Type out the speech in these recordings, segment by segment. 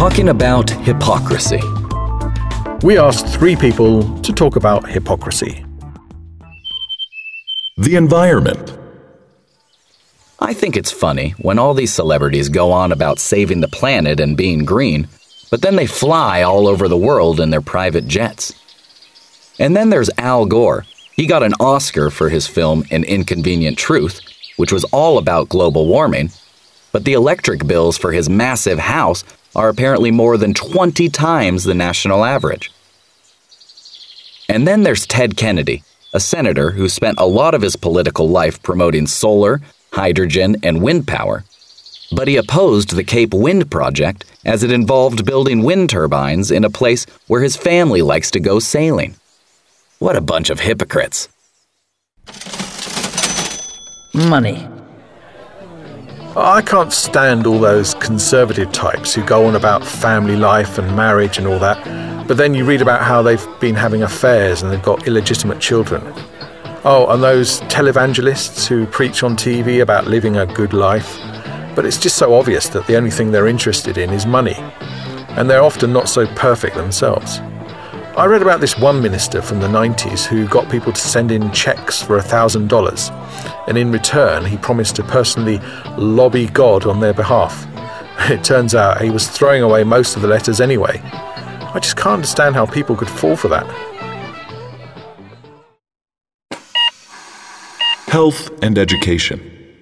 talking about hypocrisy. We asked 3 people to talk about hypocrisy. The environment. I think it's funny when all these celebrities go on about saving the planet and being green, but then they fly all over the world in their private jets. And then there's Al Gore. He got an Oscar for his film An Inconvenient Truth, which was all about global warming, but the electric bills for his massive house are apparently more than 20 times the national average. And then there's Ted Kennedy, a senator who spent a lot of his political life promoting solar, hydrogen, and wind power. But he opposed the Cape Wind Project as it involved building wind turbines in a place where his family likes to go sailing. What a bunch of hypocrites. Money. I can't stand all those conservative types who go on about family life and marriage and all that, but then you read about how they've been having affairs and they've got illegitimate children. Oh, and those televangelists who preach on TV about living a good life, but it's just so obvious that the only thing they're interested in is money, and they're often not so perfect themselves. I read about this one minister from the 90s who got people to send in checks for $1,000, and in return he promised to personally lobby God on their behalf. It turns out he was throwing away most of the letters anyway. I just can't understand how people could fall for that. Health and education.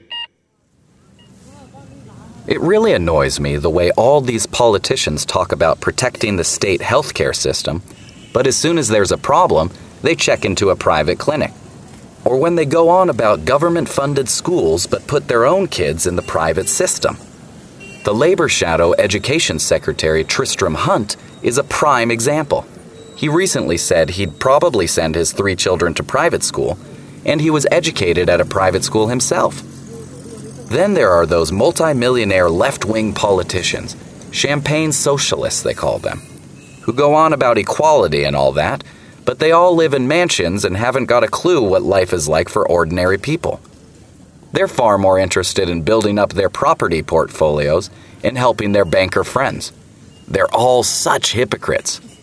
It really annoys me the way all these politicians talk about protecting the state healthcare system, but as soon as there's a problem, they check into a private clinic. Or when they go on about government-funded schools but put their own kids in the private system. The Labor Shadow Education Secretary Tristram Hunt is a prime example. He recently said he'd probably send his 3 children to private school, and he was educated at a private school himself. Then there are those multi-millionaire left-wing politicians, champagne socialists they call them, who go on about equality and all that, but they all live in mansions and haven't got a clue what life is like for ordinary people. They're far more interested in building up their property portfolios and helping their banker friends. They're all such hypocrites.